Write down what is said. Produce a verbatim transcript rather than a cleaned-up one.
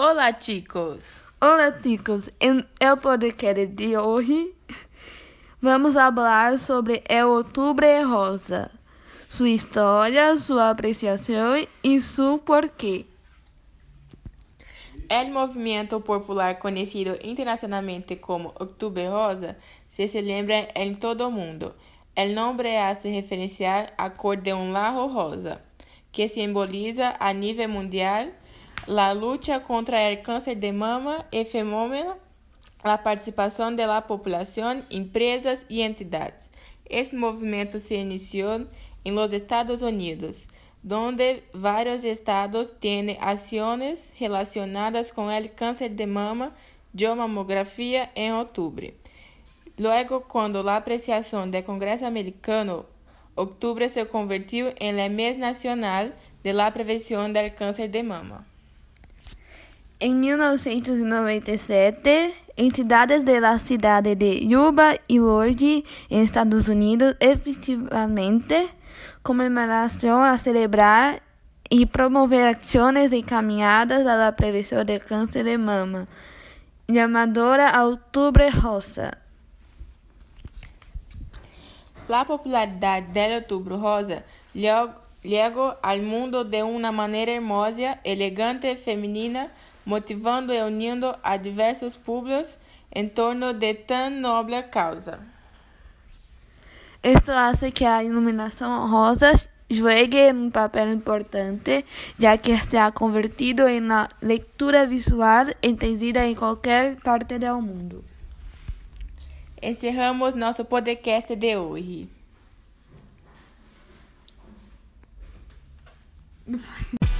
Olá, chicos! Olá, chicos! Em el podcast de hoje vamos falar sobre el Outubro Rosa, sua história, sua apreciação e seu porquê. El movimiento popular conocido internacionalmente como Outubro Rosa se celebra en todo el mundo. El nombre hace referencia a cor de un lajo rosa, que simboliza a nivel mundial la lucha contra el cáncer de mama y fenómeno, la participación de la población, empresas y entidades. Este movimiento se inició en los Estados Unidos, donde varios estados tienen acciones relacionadas con el cáncer de mama de mamografía en octubre. Luego, cuando la apreciación del Congreso americano, octubre se convirtió en el mes nacional de la prevención del cáncer de mama. Em mil novecentos e noventa e sete, entidades da cidade de Yuba e Lourdes, em Estados Unidos, efetivamente comemoraram a celebrar e promover ações encaminhadas à prevenção do câncer de mama, chamada Outubro Rosa. La popularidad del Outubro Rosa llegó al mundo de una manera hermosa, elegante, femenina, motivando y uniendo a diversos pueblos en torno de tan noble causa. Esto hace que a iluminación rosa juegue un papel importante, ya que se ha convertido en la lectura visual entendida en cualquier parte del mundo. Encerramos nosso podcast de hoje.